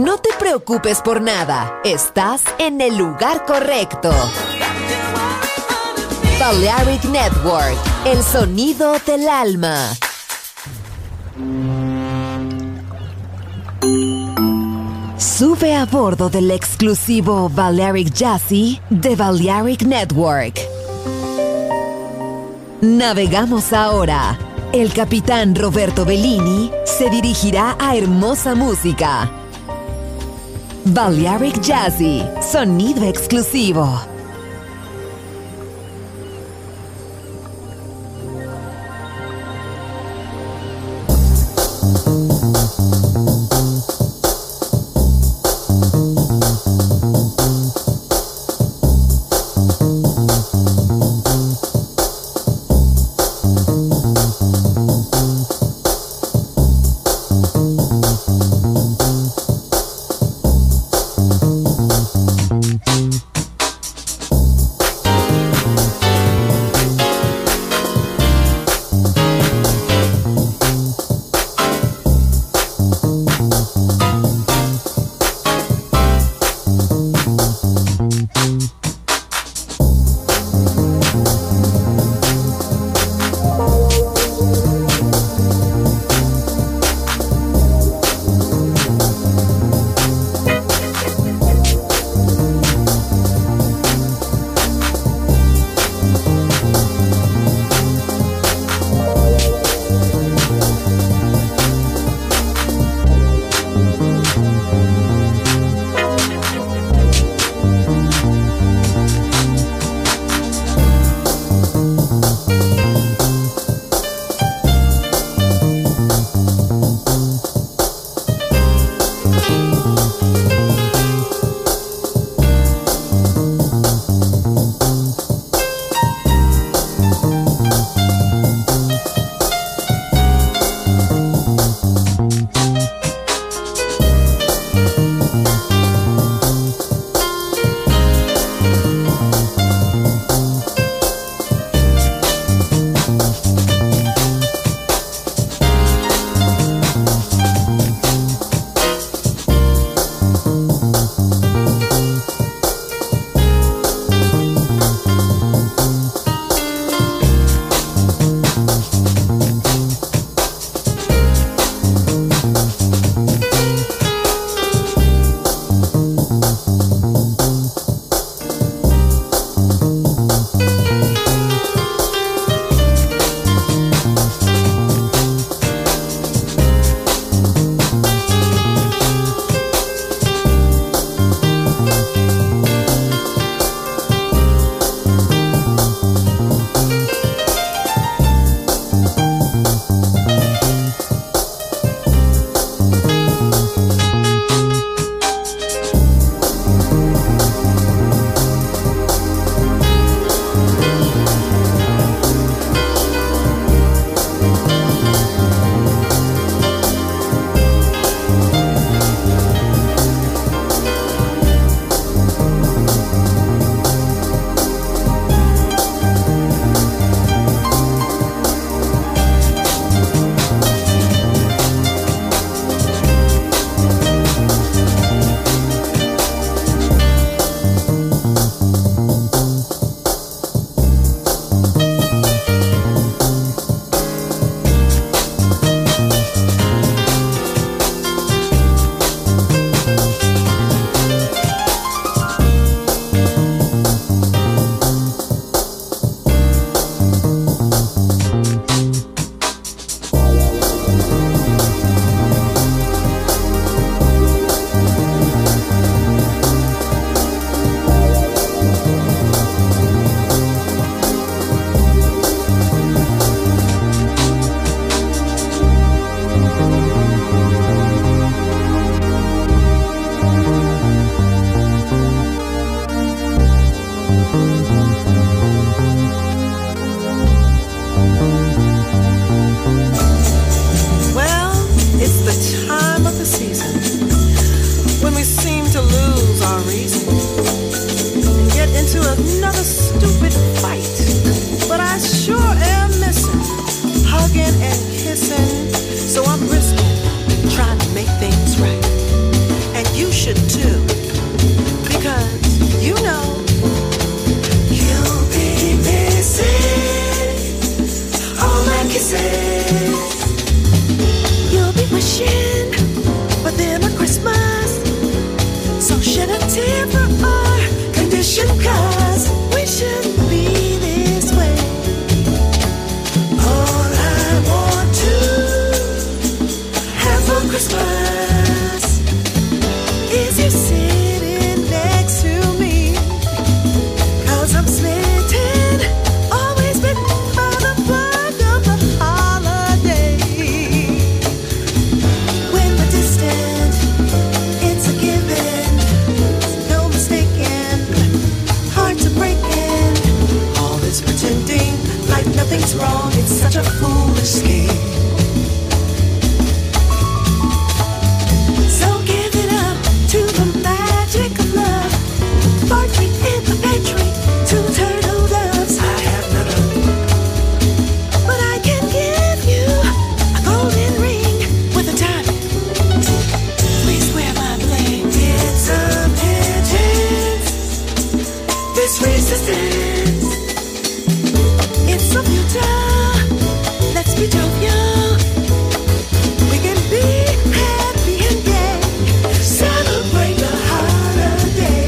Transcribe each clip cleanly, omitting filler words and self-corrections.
No te preocupes por nada, estás en el lugar correcto. Balearic Network, el sonido del alma. Sube a bordo del exclusivo Balearic Jazzy de Balearic Network. Navegamos ahora. El capitán Roberto Bellini se dirigirá a hermosa música. Balearic Jazzy, sonido exclusivo. kissing, so I'm risking trying to make things right. And should too. Because, you know, you'll be missing all my kisses. You'll be wishing for them a Christmas. So shed a tear for our condition, 'cause we shouldn't be this way. All I want to have for Christmas is you sitting next to me. 'Cause I'm smitten, always bitten by the bug of the holiday. When we're distant, it's a given, no mistaking, hard to break in. All this pretending like nothing's wrong, it's such a foolish scheme. So give it up to the magic of love. Barking in the pantry, 2 turtle doves. I have none of, but I can give you a golden ring with a diamond. Please wear my bling. It's a pigeons, this resistance. It's so futile, let's be jovial. We can be happy and gay, celebrate the holiday.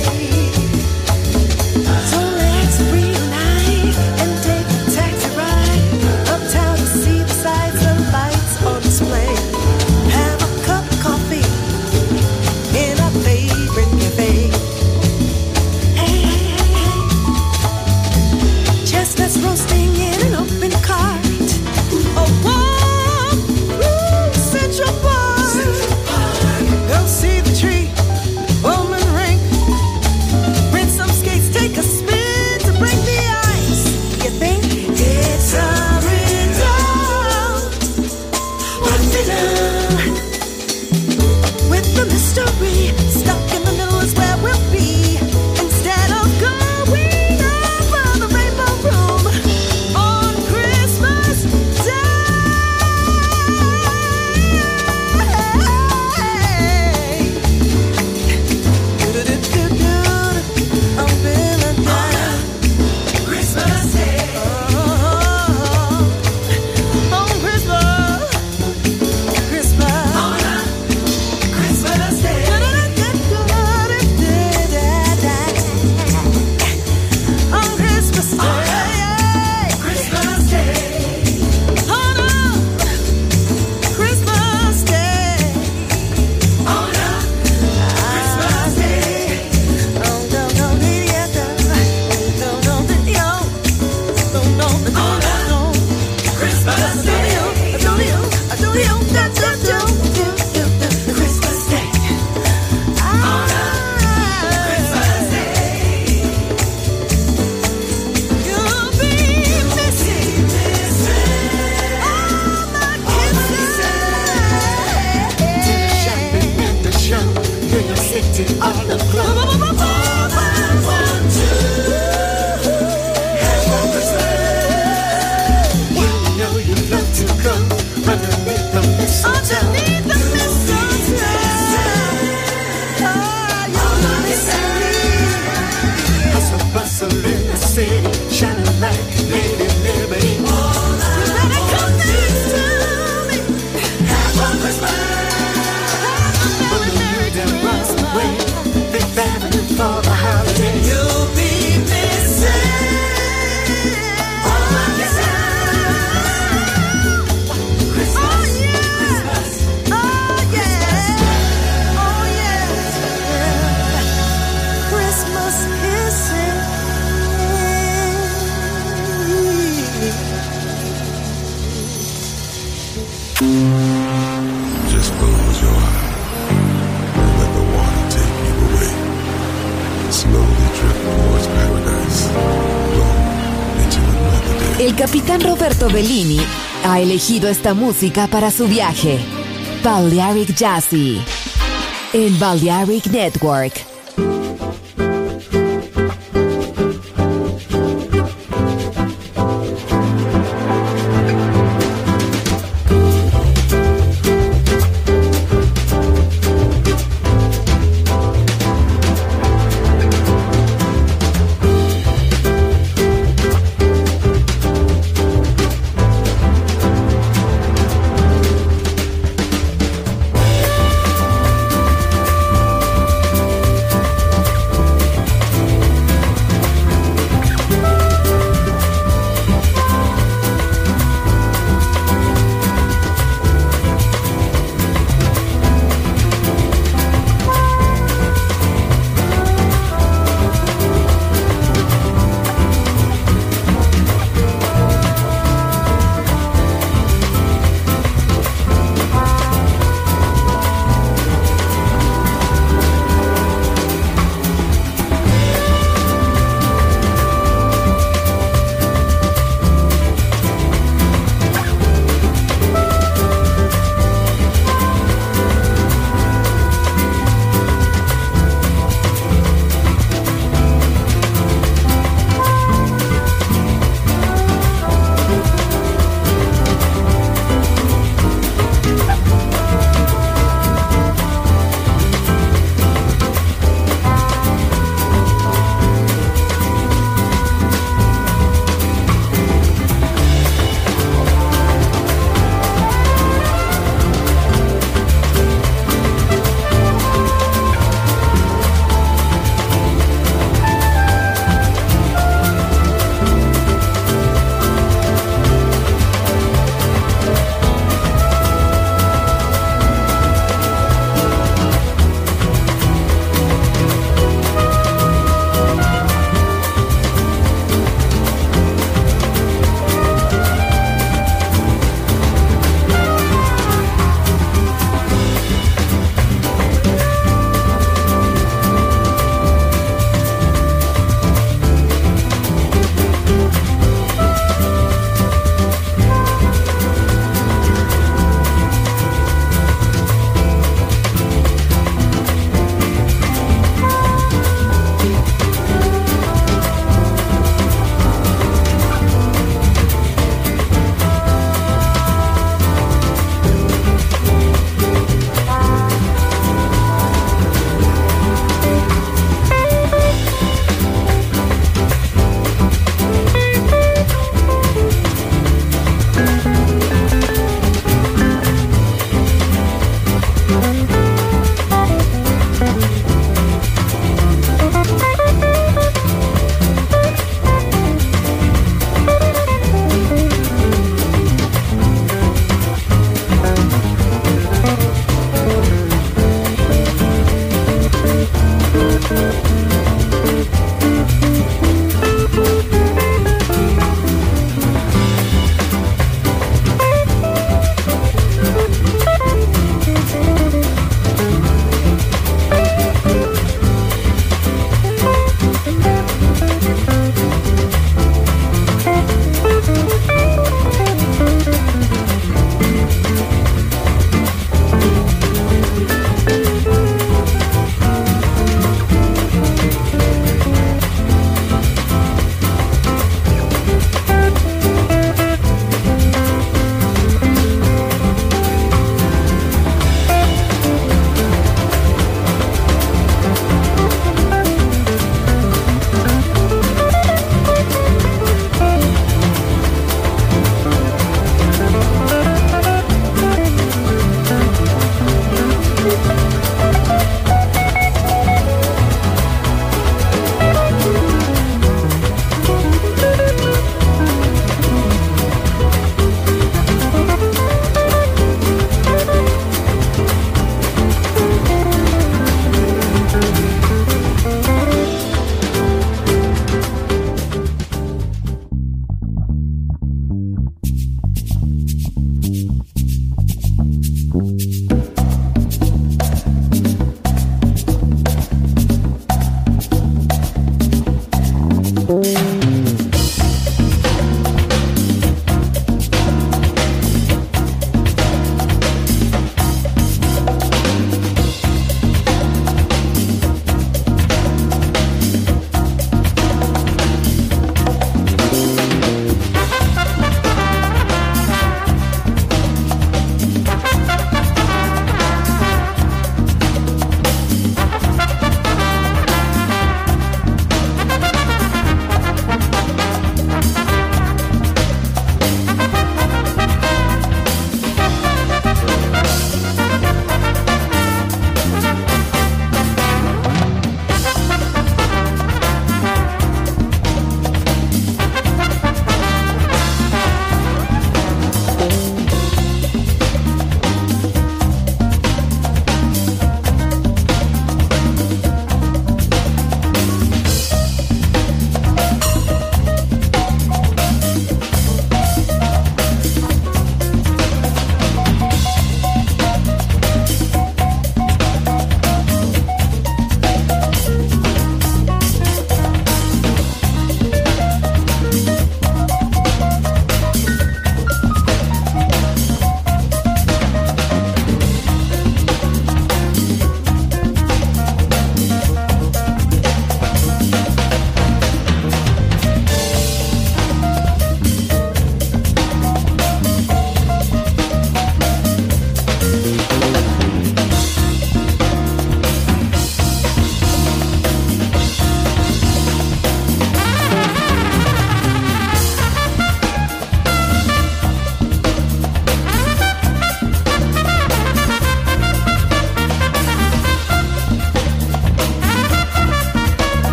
So let's reunite and take a taxi ride uptown to see the sights and lights on display. Have a cup of coffee in our favorite cafe. Hey, hey, hey, hey. Chestnuts roasting in an open cart. A warm Central Park. Go see the tree, Bowman Rink. Rent some skates, take a spin to break the ice. You think it's a riddle? What riddle? With the mystery stuck in the middle is where we'll be. Instead of going over the rainbow room on Christmas Day. I'm feeling down. Christmas Day. On Christmas. Christmas. Christmas Day. On Christmas Day. Christmas Day. On Christmas Day. On Christmas Day. On the club. All I want to have for Christmas. You know you love to go underneath the mistletoe. Underneath the mistletoe. All I see. Hustle bustle in the city, shining like Lady Liberty. All I want to have for Christmas. For the holiday, you'll be missing all my kisses. Christmas, oh yeah, Christmas, oh yeah, oh yeah, Christmas kisses. Just close your eyes and let the water take you away. Slowly drift towards paradise, flow into another day. El capitán Roberto Bellini ha elegido esta música para su viaje. Balearic Jazzy en Balearic Network.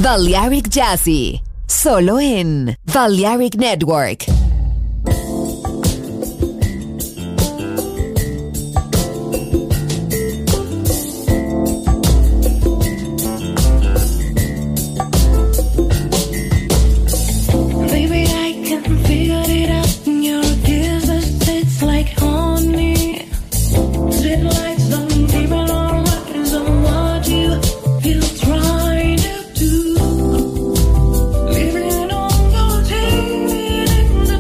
Balearic Jazzy, solo en Balearic Network. Living on your team.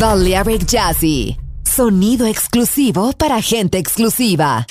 Balearic Jazzy. Sonido exclusivo para gente exclusiva.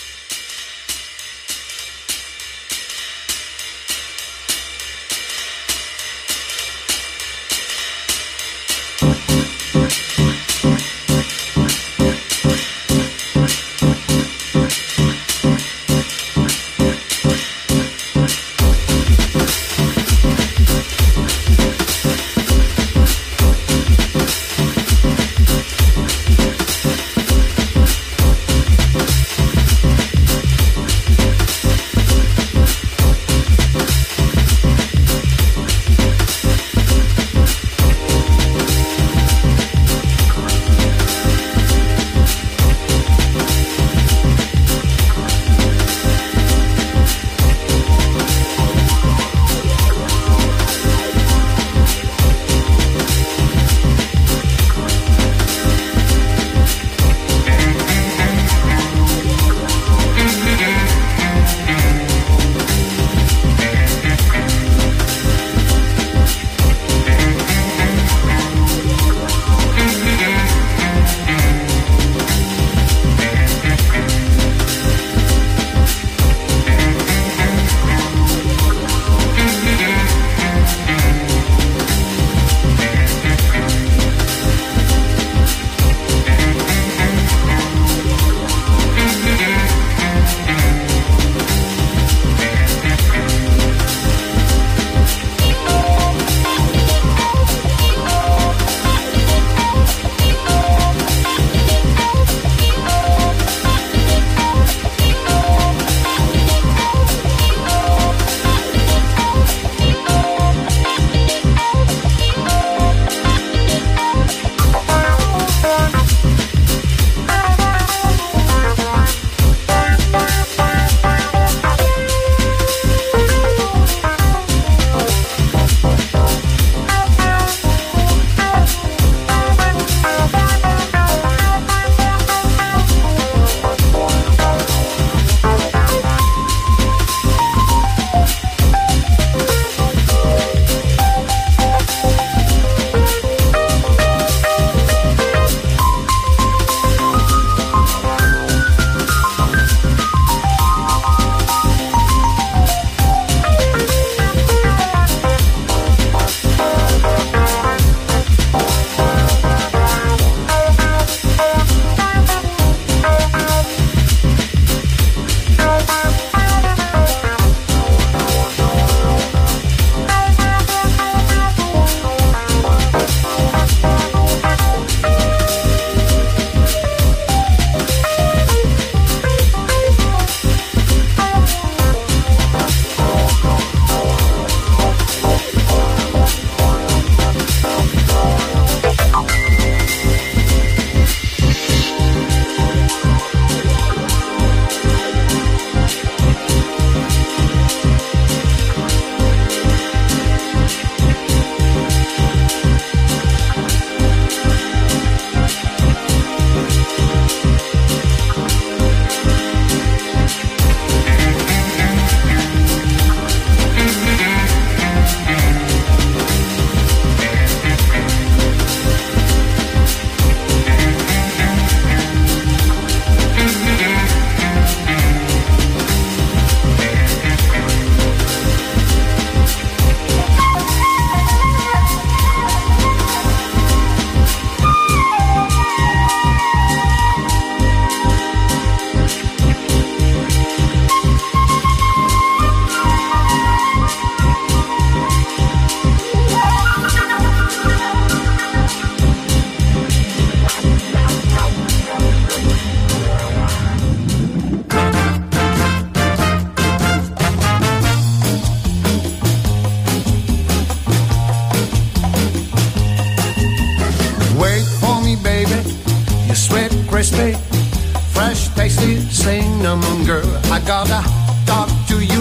crispy, fresh, tasty cinnamon girl. I gotta talk to you,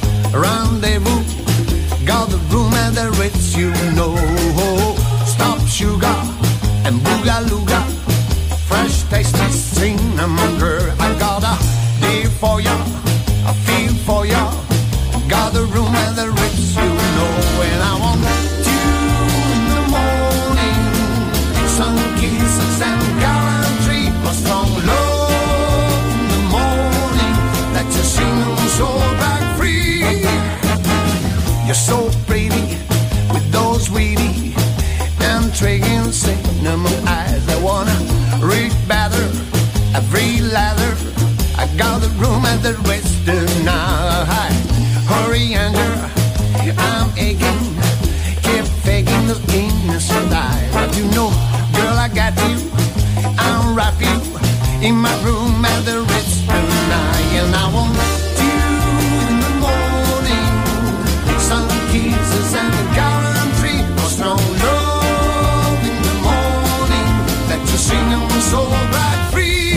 rendezvous. Got the room at the Ritz, you know. Stop sugar and boogalooga, fresh, tasty cinnamon girl. I got a deal for ya, a feel for ya. Got the room at the Ritz, you know. And I want you in the morning, sun at the rest tonight. Hurry, Andrew, I'm aching. Keep faking the innocent eye. But you know, girl, I got you. I'll wrap you in my room at the Ritz tonight. And I want you in the morning. Sun kisses and a gallantry for strong love in the morning. That you sing them so bright free.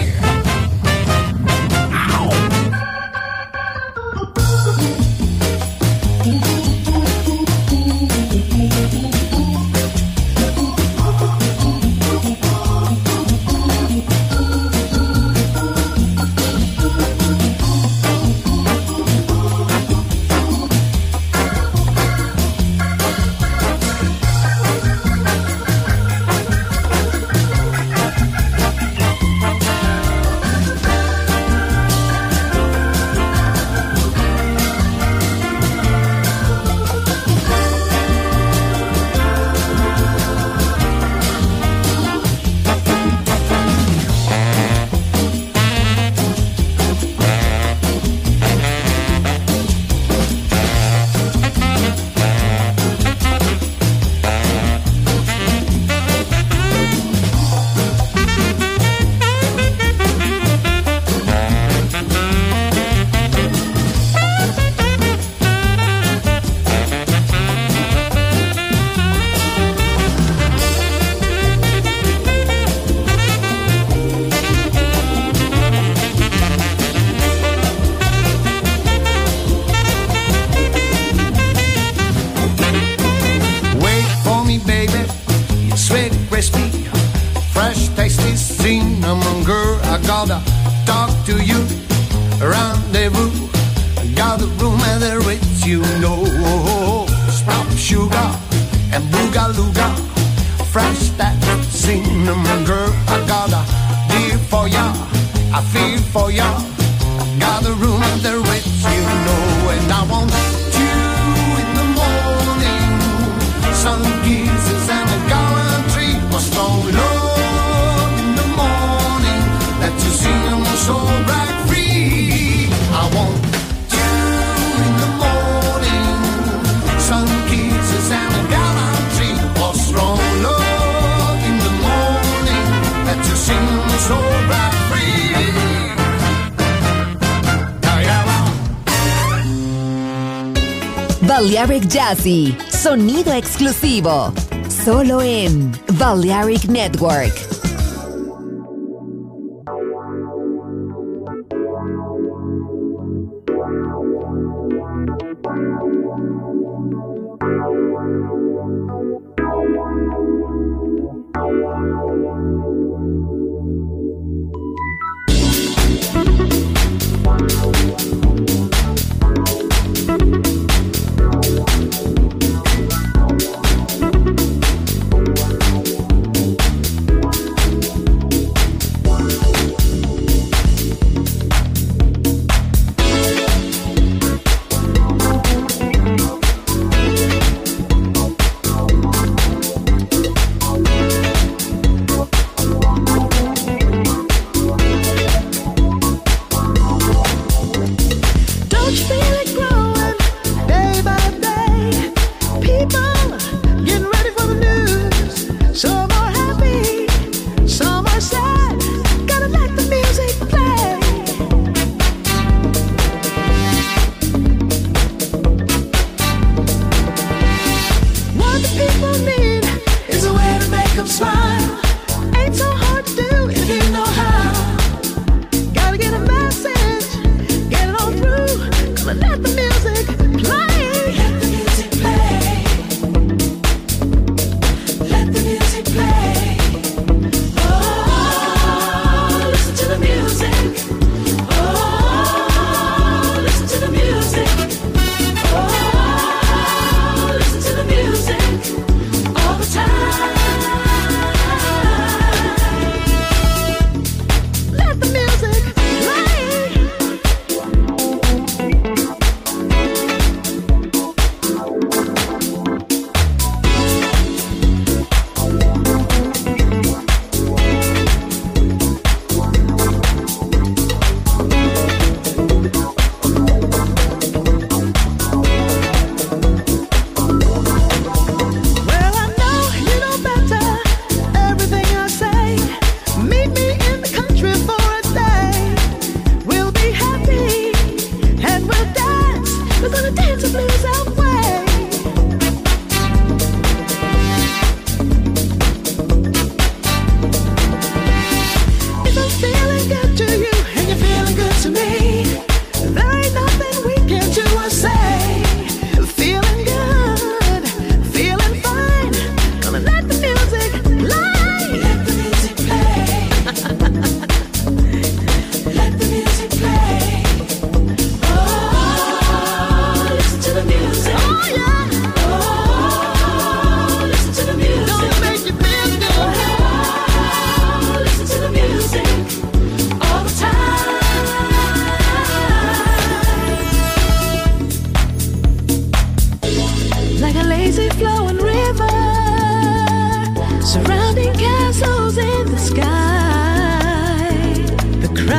Balearic Jazzy, sonido exclusivo, solo en Balearic Network.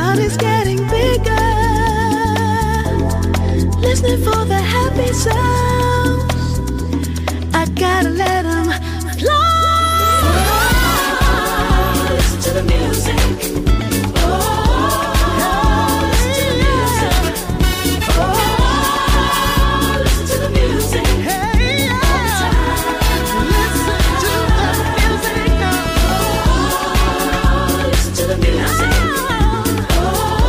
body's getting bigger, listening for the happy sounds. I gotta let them fly. Listen to the music. Oh,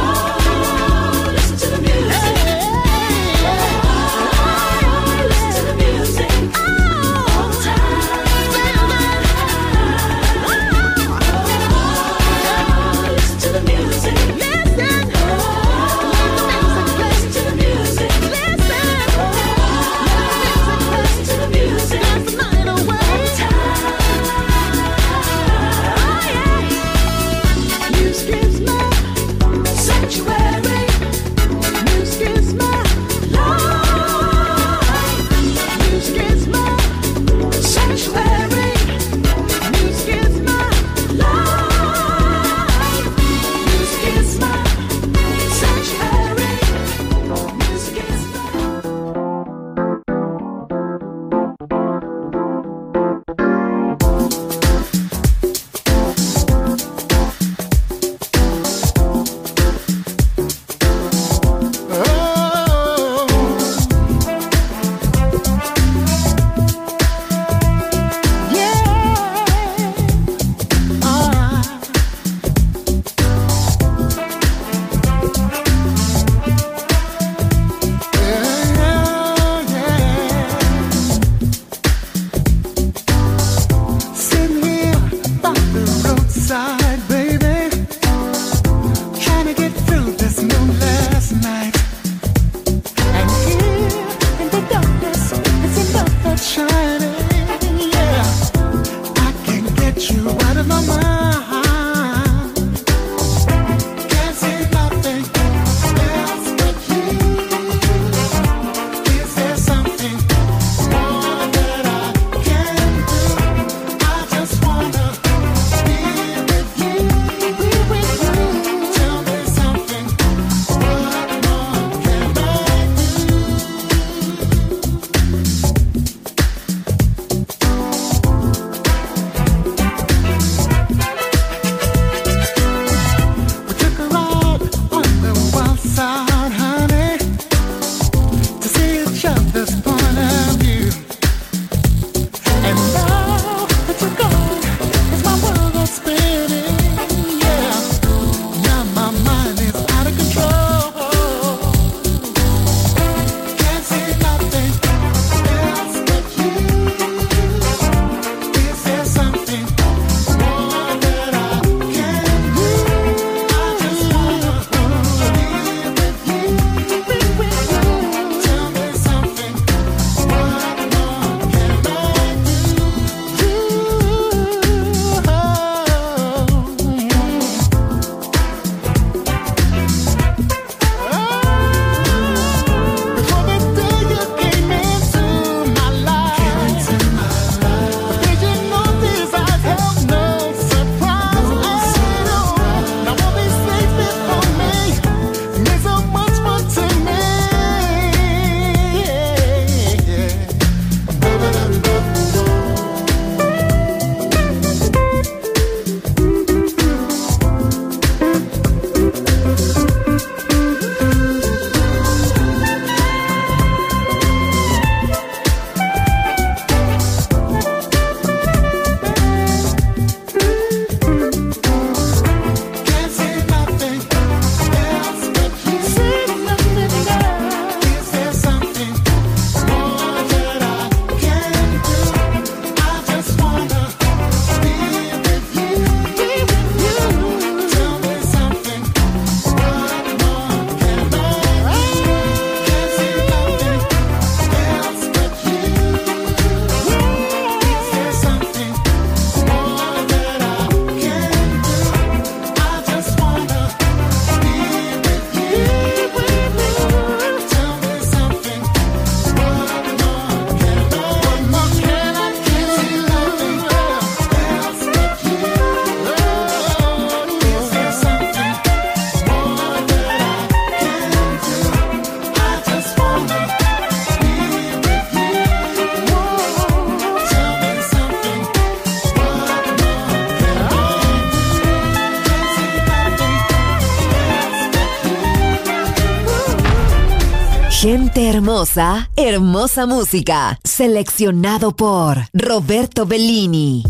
Gente hermosa, hermosa música. Seleccionado por Roberto Bellini.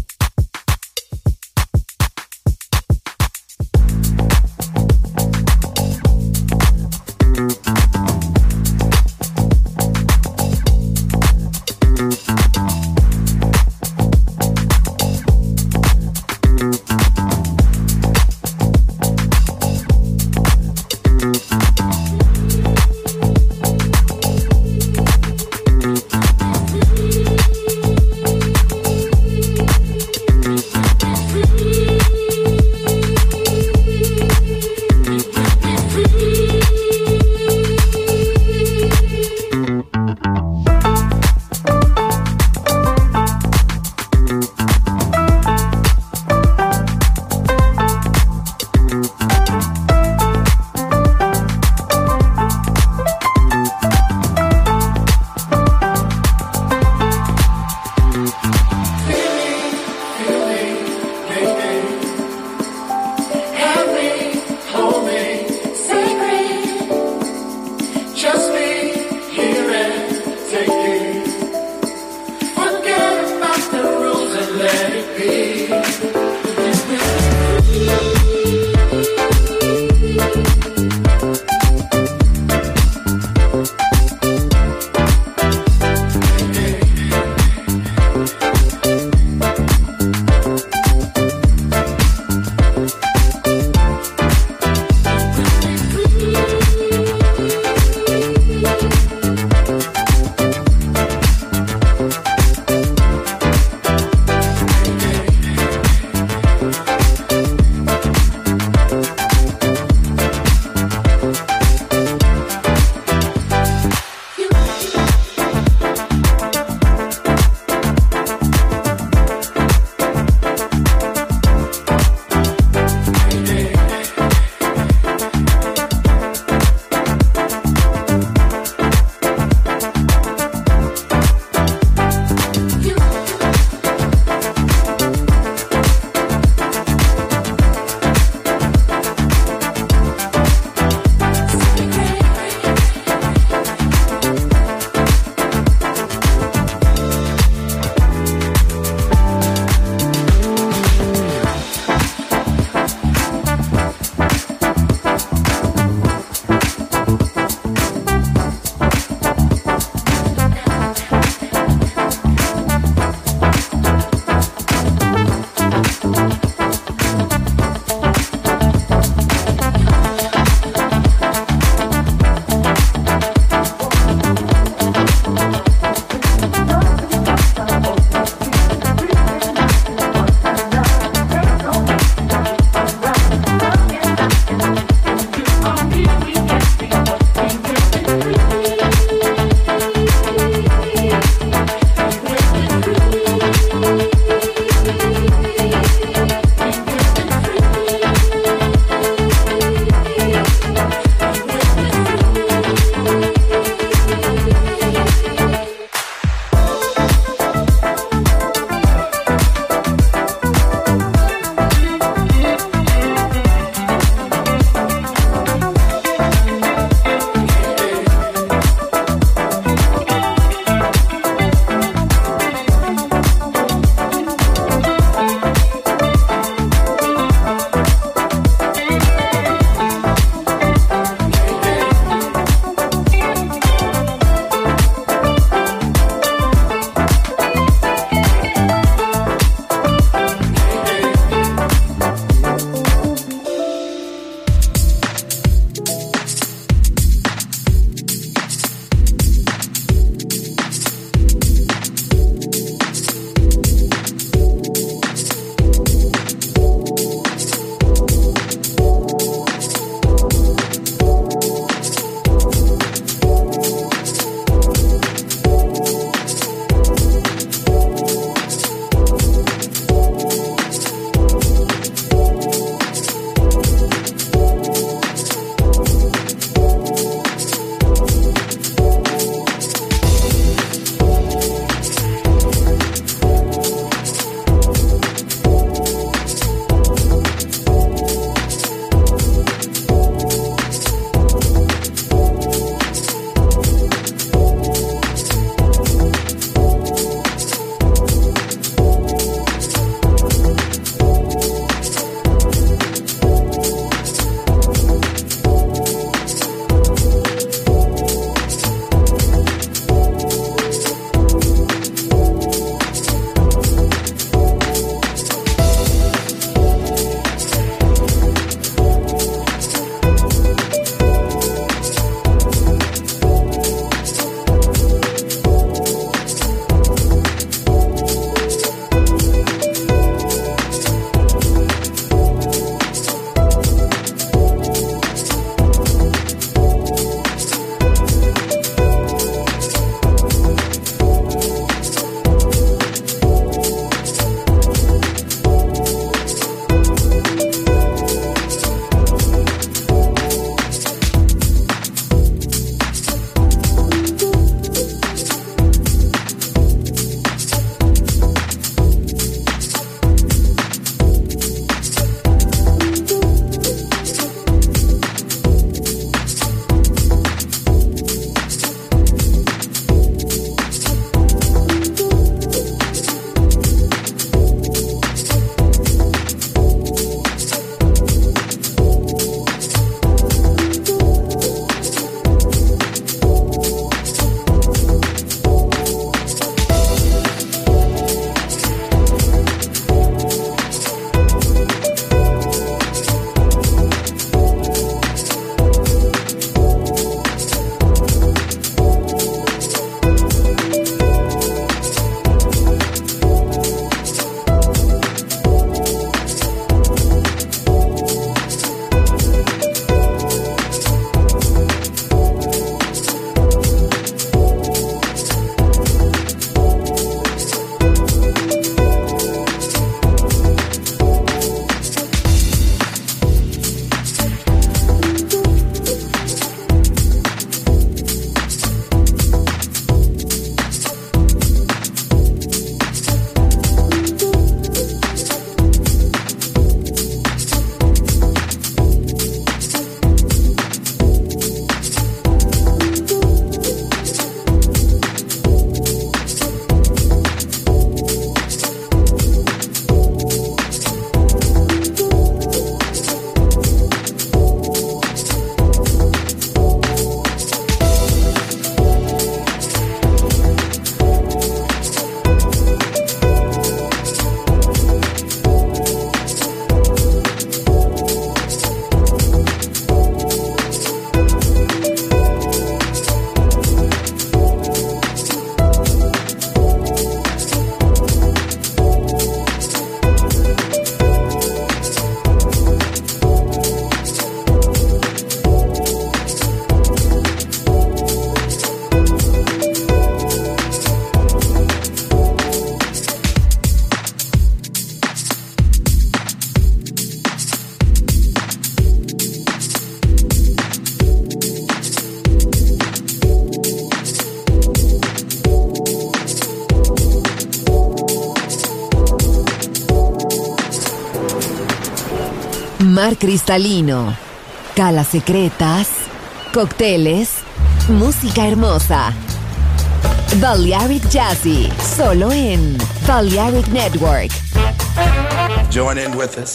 cristalino, calas secretas, cócteles, música hermosa. Balearic Jazzy, solo en Balearic Network. Join in with us.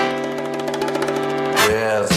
Yes.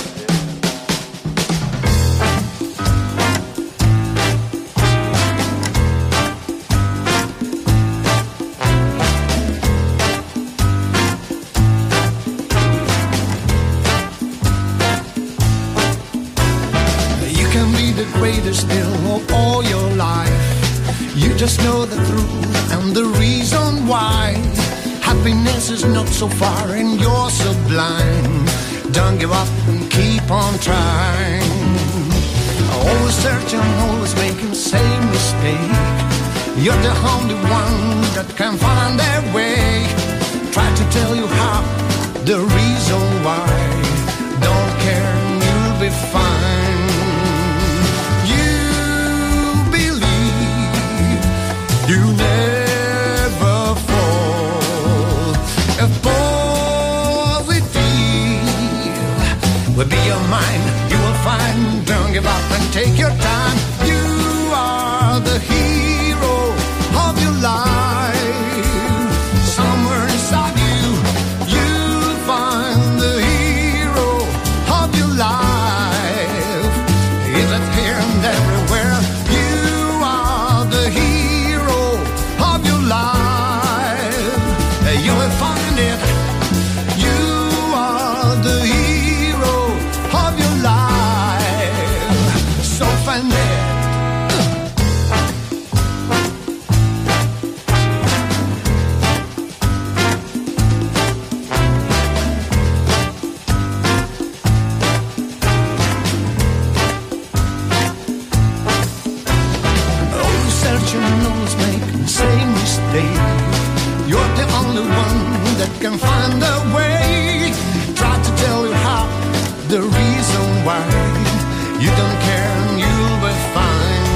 You can be the greatest still of all your life. You just know the truth and the reason why. Happiness is not so far and you're so blind. Don't give up and keep on trying. Always searching, always making the same mistake. You're the only one that can find their way. Try to tell you how, the reason why. Don't care and you'll be fine. You never fall. If positive will be your mind, you will find. Don't give up and take your time. You are the hero of your life. Somewhere inside you, you'll find the hero of your life. Is it here and everywhere? You are the hero life, you will find it. You are the hero of your life, so find it. Always searching, always making the same mistake. You're the only one that can find a way. Try to tell you how, the reason why. You don't care and you'll be fine.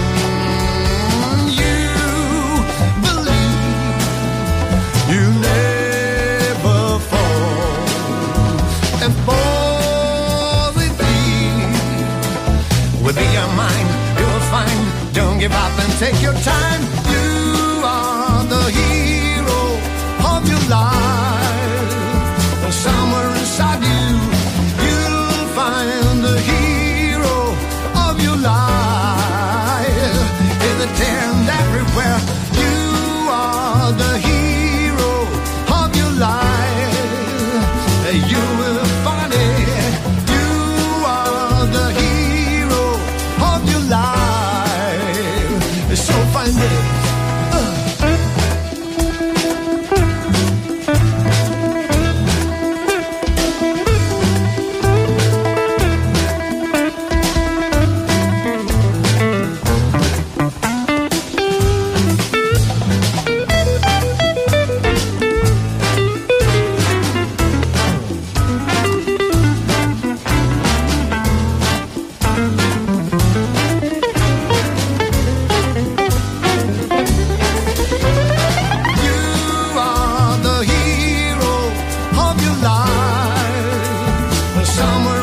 You believe you never fall. And positive will be your mind, you'll find. Don't give up and take your time. You are the hero of your life. Somewhere inside you, you'll find the hero of your life. In the tent everywhere, you are the hero of your life. You will find it. You are the hero of your life. So find it. Somewhere